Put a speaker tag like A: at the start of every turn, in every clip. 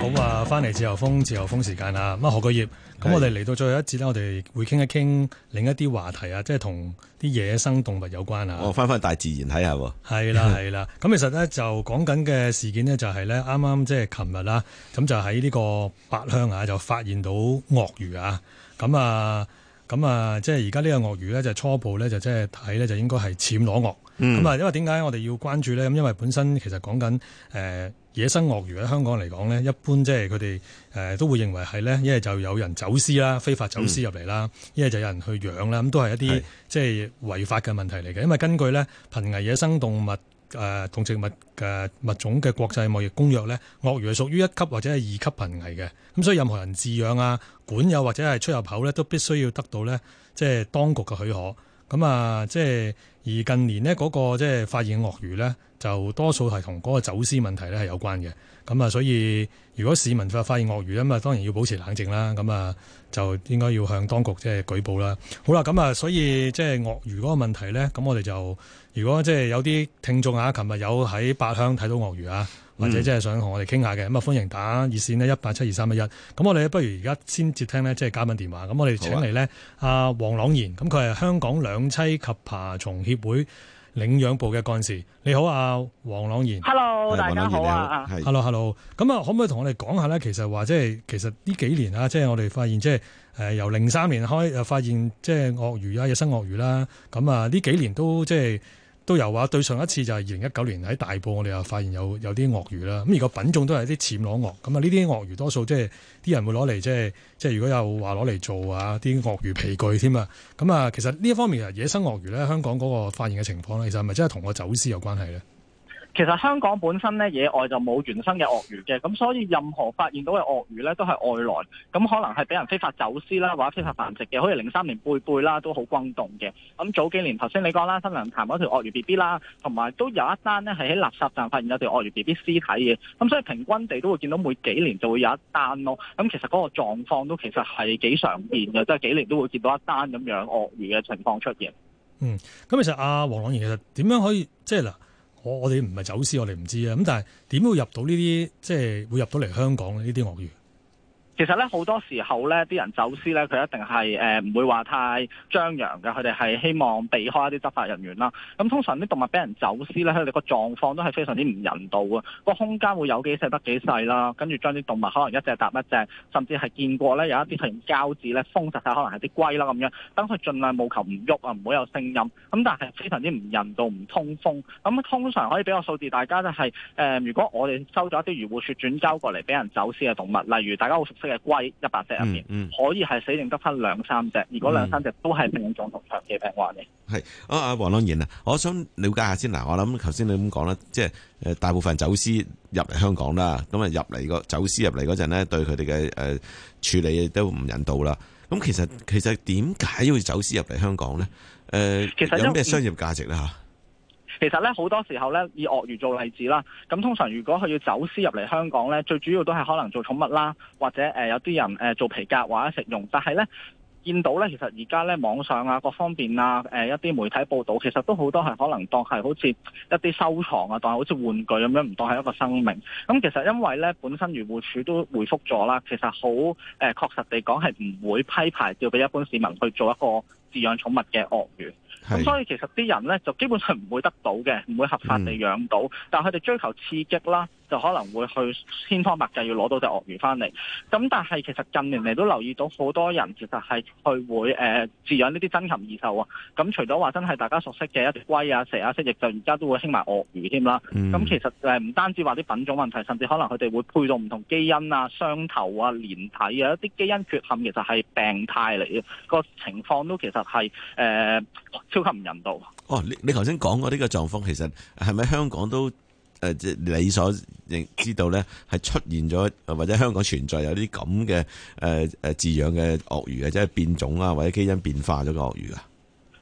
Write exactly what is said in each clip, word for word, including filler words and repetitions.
A: 好啊，翻嚟自由風自由風時間啊！咁啊，何巨業，咁我哋嚟到最後一節咧，我哋會傾一傾另一啲話題啊，即係同啲野生動物有關啊。
B: 哦，翻翻大自然睇下喎。
A: 係啦係啦，咁其實咧就講緊嘅事件呢，就係咧啱啱即係琴日啦，咁就喺呢個八鄉啊，就發現到鱷魚啊，咁啊咁啊，即係而家呢個鱷魚咧就初步咧就即係睇咧就應該係暹羅鱷。咁啊、嗯，因為點解我哋要關注咧？咁因為本身其實講緊誒野生鱷魚喺香港嚟講咧，一般即係佢哋誒都會認為係咧，一係就有人走私啦，非法走私入嚟啦，一係、嗯、就有人去養啦，咁都係一啲即係違法嘅問題嚟嘅。因為根據咧《瀕危野生動物誒動植物嘅物種嘅國際貿易公約》咧，鱷魚係屬於一級或者係二級瀕危嘅。咁所以任何人飼養啊、管有或者係出入口咧，都必須要得到咧即係當局嘅許可。咁啊，即係而近年呢嗰個即係發現鱷魚咧，就多數係同嗰個走私問題咧係有關嘅。咁啊，所以如果市民發發現鱷魚咁啊，當然要保持冷靜啦。咁啊，就應該要向當局即係舉報啦。好啦，咁啊，所以即係鱷魚嗰個問題咧，咁我哋就如果即係有啲聽眾啊，琴日有喺八鄉睇到鱷魚啊，或者即係想同我哋傾下嘅，咁啊歡迎打熱線呢一八七二三一一。咁我哋不如而家先接聽呢，即係嘉賓電話。咁我哋請嚟呢阿黃朗賢，咁佢係香港兩棲及爬蟲協會領養部嘅幹事。你好啊，黃朗賢。
C: Hello， 大家好啊。
A: Hello，Hello。咁啊，可唔可以同我哋講下呢？其實話即係其實呢幾年啊，即係我哋發現即係誒由零三年開誒發現即係鱷魚啊，野生鱷魚啦。咁啊呢幾年都即係。都有話，對上一次就係二零一九年喺大埔，我哋又發現有有啲鱷魚啦。咁而個品種都係啲暹羅鱷。咁啊，呢啲鱷魚多數即係啲人會攞嚟即係即係如果有話攞嚟做啊啲鱷魚皮具添啊。咁啊，其實呢一方面啊，野生鱷魚咧，香港嗰個發現嘅情況咧，其實係咪真係同個走私有關係咧？
C: 其實香港本身咧野外就冇原生嘅鱷魚嘅，咁所以任何發現到嘅鱷魚咧都係外來，咁可能係俾人非法走私啦，或者非法繁殖嘅，好似零三年貝貝啦都好轟動嘅。咁早幾年頭先你講啦，新娘潭嗰條鱷魚 B B 啦，同埋都有一單呢係喺垃圾站發現有條鱷魚 B B 屍體嘅，咁所以平均地都會見到每幾年就會有一單咯。咁其實嗰個狀況都其實係幾常見嘅，即係幾年都會見到一單咁樣鱷魚嘅情況出現。
A: 嗯，咁其實阿黃朗賢其實點樣可以即係嗱？我我哋唔係走私，我哋唔知啊。咁但係點會入到呢啲，即係會入到嚟香港呢啲鱷魚？
C: 其實咧好多時候咧，啲人走私咧，佢一定係誒唔會話太張揚嘅，佢哋係希望避開一啲執法人員啦。咁通常啲動物俾人走私咧，佢哋個狀況都係非常之唔人道啊！個空間會有幾細得幾細啦，跟住將啲動物可能一隻搭一隻，甚至係見過咧有一啲係用膠紙咧封實晒，可能係啲龜啦咁樣，等佢盡量務求唔喐啊，唔好有聲音。咁但係非常之唔人道、唔通風。咁通常可以俾個數字大家就係、是、誒、呃，如果我哋收咗一啲漁護署轉交過嚟俾人走私嘅動物，例如大家好熟悉嘅龜一百隻入面，嗯嗯、可以係死剩得翻兩三隻，如果兩三隻都係病重同長期病患嘅。
B: 係啊，阿黃朗賢啊，我想了解下先嗱，我諗頭先你咁講啦，即係誒大部分走私入嚟香港啦，咁啊入嚟個走私入嚟嗰陣咧，對佢哋嘅誒處理都唔人道啦。咁其實其實點解要走私入嚟香港咧？誒、呃，其實有咩商業價值咧嚇？
C: 其實咧好多時候咧，以鱷魚做例子啦，咁通常如果佢要走私入嚟香港咧，最主要都係可能做寵物啦，或者誒、呃、有啲人誒做皮革或者食用，但係咧見到咧，其實而家咧網上啊各方面啊誒、呃、一啲媒體報導，其實都好多係可能當係好似一啲收藏啊，當係好似玩具咁樣，唔當係一個生命。咁其實因為咧本身漁護署都回覆咗啦，其實好誒、呃、確實地講係唔會批牌照俾一般市民去做一個飼養寵物嘅鱷魚。咁所以其實啲人咧就基本上唔會得到嘅，唔會合法地養到，嗯、但係佢哋追求刺激啦，就可能會去千方百計要攞到隻鱷魚翻嚟。咁但係其實近年嚟都留意到好多人其實係去會誒飼養呢啲珍禽異獸啊。咁除咗話真係大家熟悉嘅一啲龜啊、蛇啊、蜥蜴，就而家都會興埋鱷魚添啦。咁、嗯、其實誒唔單止話啲品種問題，甚至可能佢哋會配到唔同基因啊、雙頭啊、連體啊，一啲基因缺陷其實係病態嚟嘅，個情況都其實係誒。呃超級唔人道。
B: 哦，你你頭先講過呢個狀況，其實係咪香港都誒即係你所認知道咧，係出現咗或者香港存在有啲咁嘅誒誒飼養嘅鱷魚嘅，即係變種啊或者基因變化咗嘅鱷魚啊？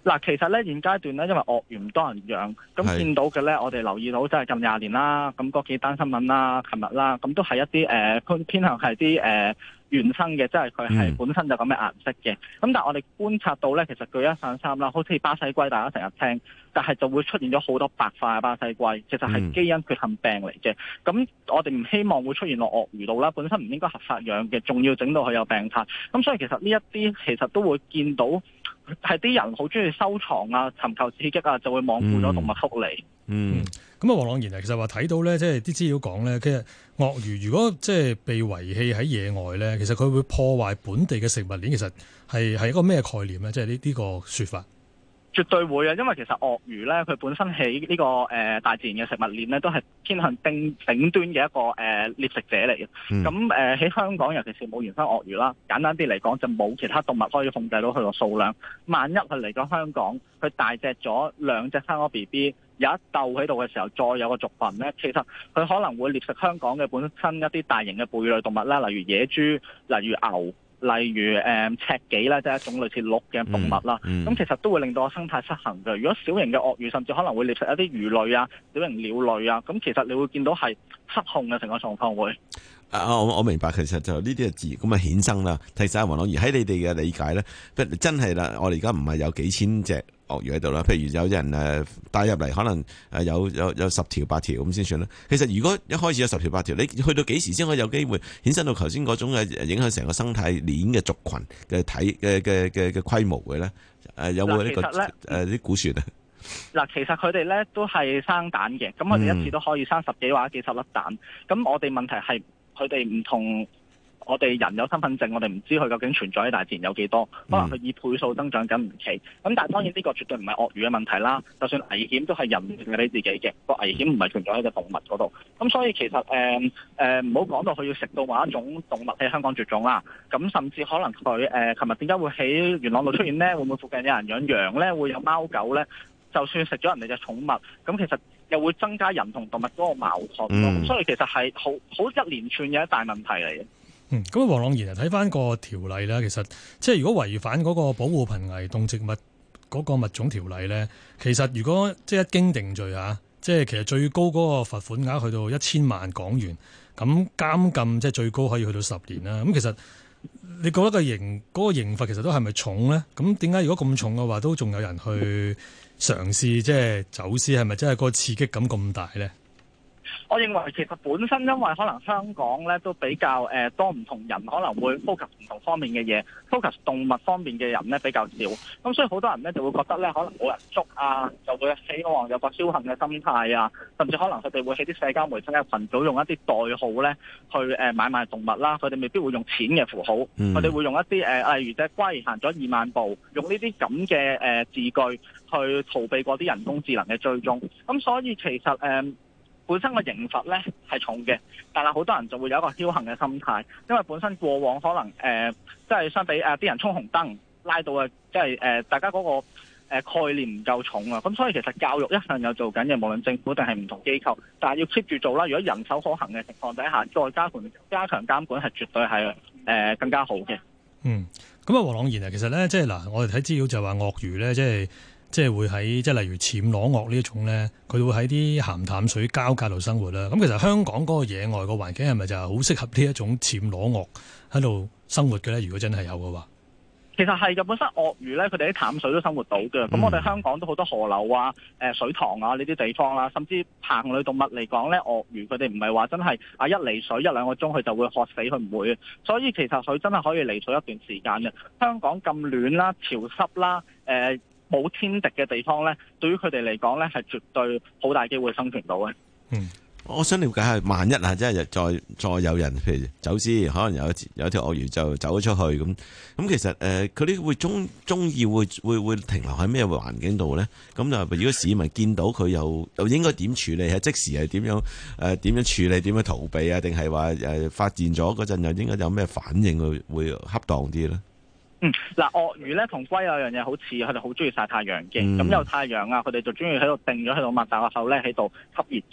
C: 嗱，其實咧現階段咧，因為鱷魚唔多人養，咁見到嘅咧，我哋留意到即係近廿年啦，咁嗰幾單新聞啦，琴日啦，咁都係一啲誒、呃、偏向係啲誒原生嘅，即係佢係本身就咁嘅顏色嘅。咁、嗯、但係我哋觀察到咧，其實舉一反三啦，好似巴西龜，大家成日聽，但係就會出現咗好多白化嘅巴西龜，其實係基因缺陷病嚟嘅。咁、嗯、我哋唔希望會出現落鱷魚度啦，本身唔應該合法養嘅，仲要整到佢有病態。咁所以其實呢一啲其實都會見到。係啲人好中意收藏啊，尋求刺激啊，就會罔顧咗動物福利。
A: 嗯，咁啊，黃朗然啊，其實話睇到咧，即係啲資料講咧，其實鱷魚如果即係被遺棄喺野外咧，其實佢會破壞本地嘅食物鏈，其實係係一個咩概念咧？即係呢呢個說法。
C: 絕對會啊，因為其實鱷魚咧，佢本身喺呢、這個誒、呃、大自然嘅食物鏈咧，都係偏向頂頂端嘅一個誒獵、呃、食者嚟嘅。咁誒喺香港，尤其是冇原生鱷魚啦，簡單啲嚟講，就冇其他動物可以控制到佢個數量。萬一佢嚟咗香港，佢大隻咗兩隻生咗 B B， 有一竇喺度嘅時候，再有個族群咧，其實佢可能會獵食香港嘅本身一啲大型嘅哺乳類動物啦，例如野豬，例如牛。例如誒、嗯、赤麂啦，即係一種類似鹿嘅動物啦，咁、嗯嗯、其實都會令到個生態失衡嘅。如果小型嘅鱷魚甚至可能會獵食一啲魚類啊、小型鳥類啊，咁其實你會見到係失控嘅成個狀況會。
B: 啊，我我明白，其實就呢啲係自然咁啊衍生啦。其實阿黃朗然喺你哋嘅理解咧，真係啦，我哋而家唔係有幾千隻鱷魚喺度啦。譬如有人誒帶入嚟，可能誒有有有十條八條咁先算啦。其實如果一開始有十條八條，你去到幾時先可以有機會衍生到頭先嗰種嘅影響成個生態鏈嘅族群嘅體嘅嘅嘅嘅規模嘅咧？誒有冇呢個誒啲估算啊？
C: 嗱，其實佢哋咧都係生蛋嘅，咁我哋一次都可以生十幾或者幾十粒蛋。咁我哋問題係。佢哋唔同我哋人有身份證，我哋唔知佢究竟存在喺大自然有幾多，可能佢以倍數增長緊唔奇。咁但係當然呢個絕對唔係鱷魚嘅問題啦，就算危險都係人定俾自己嘅，個危險唔係存在喺個動物嗰度。咁所以其實誒誒唔好講到佢要食到某一種動物喺香港絕種啦。咁甚至可能佢誒琴日點解會喺元朗度出現呢？會唔會附近有人養羊呢？會有貓狗呢？就算食咗人哋嘅寵物，咁其實又會增加人同動物嗰個矛盾咯。嗯、所以其實係好好一連串嘅一大問題嚟嘅。
A: 嗯，咁黃朗然啊，睇翻個條例咧，其實即係如果違反嗰個保護瀕危動植物嗰個物種條例咧，其實如果即係一經定罪啊，即係其實最高嗰個罰款額去到一千萬港元，咁監禁即係最高可以去到十年啦。咁其實你覺得個刑嗰、嗰個刑罰其實都係咪重咧？咁點解如果咁重嘅話，都仲有人去嘗試即係走私，係咪真係個刺激感咁大咧？
C: 我認為其實本身因為可能香港咧都比較誒、呃、多唔同人可能會 focus 唔同方面嘅嘢 focus 動物方面嘅人咧比較少，咁所以好多人咧就會覺得咧可能冇人捉啊，就會希望有個僥倖嘅心態啊，甚至可能佢哋會喺啲社交媒體嘅群組用一啲代號咧去誒、呃、買賣動物啦，佢哋未必會用錢嘅符號，佢哋、嗯、會用一啲誒、呃、例如隻龜行咗二萬步，用呢啲咁嘅誒字句去逃避過啲人工智能嘅追蹤，咁所以其實誒。呃本身個刑罰咧係重嘅，但係好多人就會有一個僥倖嘅心態，因為本身過往可能誒、呃，即係相比誒啲、呃、人衝紅燈拉到嘅，即係誒、呃、大家嗰、那個、呃、概念唔夠重啊，咁所以其實教育一向有做緊嘅，無論政府定係唔同機構，但係要 keep 住做啦。如果人手可行嘅情況底下，再加強加強監管係絕對係誒、呃、更加好嘅。
A: 嗯，咁啊，黃朗然啊，其實咧即係嗱，我哋睇資料就話鱷魚咧即係。即係會喺即係例如暹羅鱷呢一種咧，佢會喺啲鹹淡水交界度生活啦。咁其實香港嗰個野外個環境係咪就係好適合呢一種暹羅鱷喺度生活嘅咧？如果真係有嘅話，
C: 其實係嘅。本身鱷魚咧，佢哋喺淡水都生活到嘅。咁、嗯、我哋香港都好多河流啊、誒水塘啊呢啲地方啦，甚至硼類動物嚟講咧，鱷魚佢哋唔係話真係啊一離水一兩個鐘佢就會渴死，佢唔會。所以其實佢真係可以離水一段時間嘅。香港咁暖啦、潮濕啦、誒、呃。冇天敵嘅地方咧，對於佢哋嚟講咧，係絕對好大機會生存到嘅。
B: 嗯，我想了解下，萬一啊，即係再再有人譬如走私，可能有有條鱷魚就走咗出去咁，咁其實誒，佢哋會中中意會會會停留喺咩環境度咧？咁就如果市民見到佢又又應該點處理？係即時係點樣誒？點樣處理？點樣逃避啊？定係話誒發現咗嗰陣又應該有咩反應會會恰當啲咧？
C: 嗯，嗱，鱷魚咧同龜有樣嘢好似，佢哋好中意曬太陽嘅。咁、嗯、有太陽啊，佢哋就中意喺度定咗喺度擘大個口咧，喺度吸熱嘅。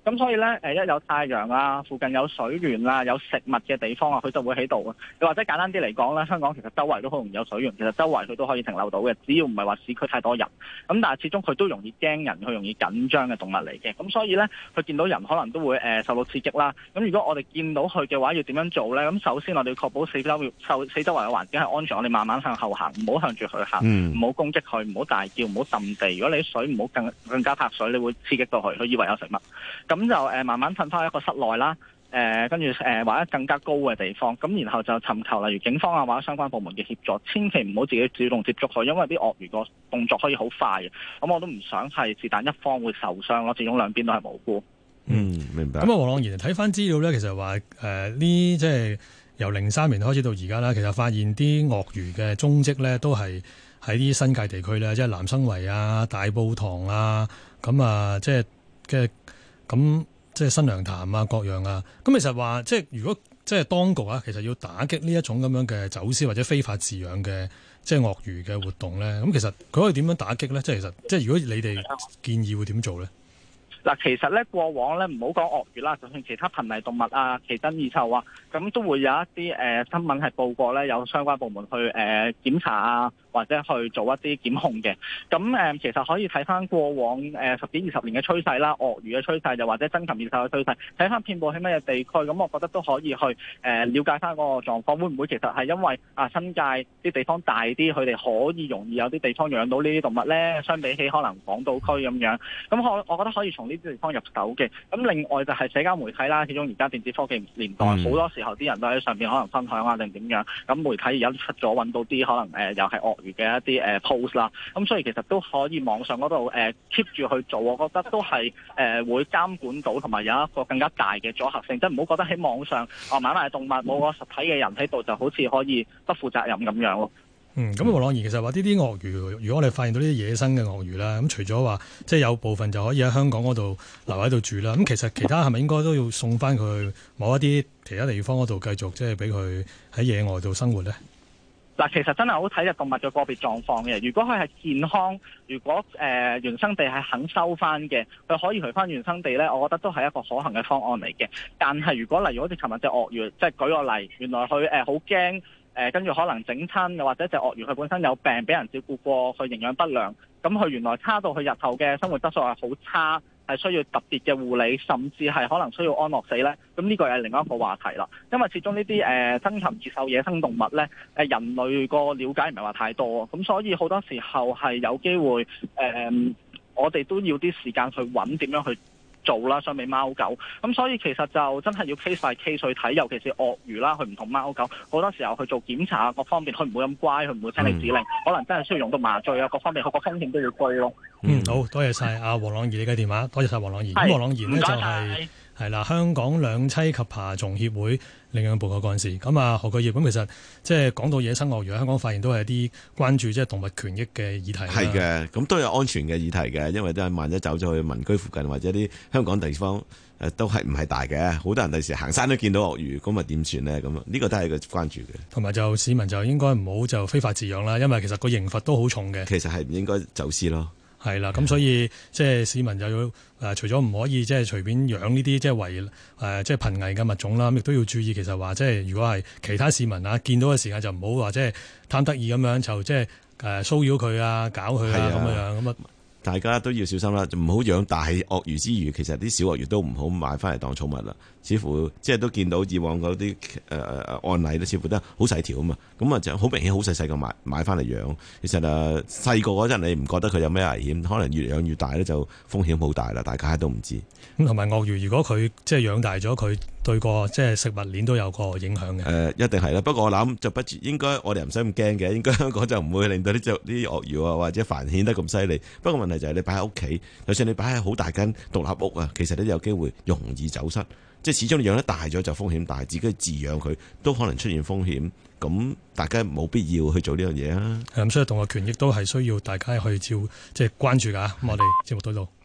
C: 咁所以咧誒一有太陽啊，附近有水源啊，有食物嘅地方啊，佢就會喺度啊。又或者簡單啲嚟講咧，香港其實周圍都好容易有水源，其實周圍佢都可以停留到嘅，只要唔係話市區太多人。咁但係始終佢都容易驚人，佢容易緊張嘅動物嚟嘅。咁所以咧，佢見到人可能都會誒、呃、受到刺激啦。咁如果我哋見到佢嘅話，要點樣做咧？咁首先我哋要確保四周受四周圍嘅環境係安全，我哋慢慢向後行，唔好向住佢行，唔好、嗯、攻擊佢，唔好大叫，唔好揼地。如果你啲水唔好更更加拍水，你會刺激到佢，佢以為有食物。咁就誒、呃、慢慢褪翻一個室內啦。誒跟住誒或者更加高嘅地方，咁然後就尋求例如警方啊或者相關部門嘅協助，千祈唔好自己主動接觸佢，因為啲鱷魚個動作可以好快嘅，咁我都唔想係是但一方會受傷咯，始終兩邊都係無辜。
B: 嗯，明白。
A: 咁啊，黃朗賢睇翻資料咧，其實話誒呢即係由零三年開始到而家啦，其實發現啲鱷魚嘅蹤跡咧都係喺啲新界地區咧，即係南生圍啊、大埔塘啊，咁啊即係嘅咁。即係新娘潭啊，各樣啊，咁其實話即係如果即係當局啊，其實要打擊呢一種咁樣嘅走私或者非法飼養嘅即係鱷魚嘅活動咧，咁其實佢可以點樣打擊咧？即係其實即係如果你哋建議會點做咧？
C: 嗱，其實咧過往咧唔好講鱷魚啦，就算其他瀕危動物啊、奇珍異獸啊，咁都會有一啲誒、呃、新聞係報過咧，有相關部門去誒、呃、檢查啊，或者去做一啲檢控嘅。咁誒、呃、其實可以睇翻過往誒、呃、十幾二十年嘅趨勢啦，鱷魚嘅趨勢，又或者珍禽異獸嘅趨勢，睇翻遍佈喺乜嘢地區，咁我覺得都可以去誒、呃、了解翻嗰個狀況，會唔會其實係因為啊新界啲地方大啲，佢哋可以容易有啲地方養到呢啲動物咧？相比起可能港島區咁樣，咁我我覺得可以從呢地方入手嘅。咁另外就係社交媒體啦，始終而家電子科技年代，好、嗯、多時候啲人都喺上邊可能分享啊定點樣。咁媒體而家出咗揾到啲可能誒、呃、又係鱷魚嘅一啲誒、呃、post 啦。咁所以其實都可以網上嗰度誒 keep 住去做，我覺得都係誒、呃、會監管到，同埋有一個更加大嘅阻嚇性。即係唔好覺得喺網上啊買賣動物冇個實體嘅人喺度，就好似可以不負責任咁樣咯。
A: 嗯，咁黃朗賢其實話呢啲鱷魚，如果我哋發現到呢啲野生嘅鱷魚啦，咁除咗話即係有部分就可以喺香港嗰度留喺度住啦，咁其實其他係咪應該都要送翻佢去某一啲其他地方嗰度繼續即係俾佢喺野外度生活咧？
C: 嗱，其實真係好睇隻動物嘅個別狀況嘅。如果佢係健康，如果誒、呃、原生地係肯收翻嘅，佢可以回翻原生地咧，我覺得都係一個可行嘅方案嚟嘅。但係如果例如好似尋日隻鱷魚，即係舉個例，原來佢誒好驚。誒跟住可能整親，又或者隻鱷魚佢本身有病，俾人照顧過，佢營養不良，咁佢原來差到佢日後嘅生活質素係好差，係需要特別嘅護理，甚至係可能需要安樂死呢。咁呢個係另一個話題啦。因為始終呢啲誒珍禽異獸野生動物呢，誒人類個了解唔係話太多，咁所以好多時候係有機會誒、呃，我哋都要啲時間去揾點樣去做啦，相比貓狗，咁所以其實就真係要 case by case 去睇，尤其是鱷魚啦，佢唔同貓狗，好多時候去做檢查各方面，佢唔會咁乖，佢唔會聽你指令，嗯、可能真係需要用到麻醉啊，各方面佢個風險都要追咯。
A: 嗯，好多謝晒阿黃朗賢你嘅電話，多謝晒黃朗賢。咁黃朗賢呢，就係係啦，香港兩棲及爬蟲協會領養部嘅幹事。咁啊何巨業，咁其實即係講到野生鱷魚喺香港發現都係一啲關注即係動物權益嘅議題。
B: 係嘅，咁都有安全嘅議題嘅，因為都係萬一走咗去民居附近或者啲香港地方誒，都係唔係大嘅，好多人第時行山都見到鱷魚，咁啊點算呢？咁呢個都係個關注嘅。同埋就市民就應該唔好就非法飼養啦，因為其實個刑罰都好重嘅。其實係唔應該走私咯。係啦，咁所以即係市民就要誒、呃，除咗唔可以即係隨便養呢啲即係為誒即係瀕危嘅物種啦，咁亦都要注意。其實話即係如果係其他市民啊見到嘅時間，就唔好話即係貪得意咁樣就即係誒騷擾佢啊、搞佢啊咁樣咁啊。大家都要小心啦，唔好養大鱷魚之餘，其實啲小鱷魚都唔好買翻嚟當寵物啦。似乎即係都見到以往嗰啲誒案例咧，似乎都好細條啊嘛。咁啊就好明顯好細細個買買翻嚟養。其實誒細個嗰陣你唔覺得佢有咩危險，可能越養越大咧就風險好大啦。大家都唔知。咁同埋鱷魚，如果佢即係養大咗，佢對個即係食物鏈都有個影響嘅。誒、呃、一定係啦。不過我諗就不應該，我哋唔使咁驚嘅。應該香港就唔會令到啲隻啲鱷魚啊或者繁衍得咁犀利。不過問題就係你擺喺屋企，就算你擺喺好大間獨立屋啊，其實都有機會容易走失。即係始終你養得大咗就風險大，自己飼養佢都可能出現風險。咁大家冇必要去做呢樣嘢啊。咁所以動物權益都係需要大家去照即係關注㗎。咁我哋節目到度。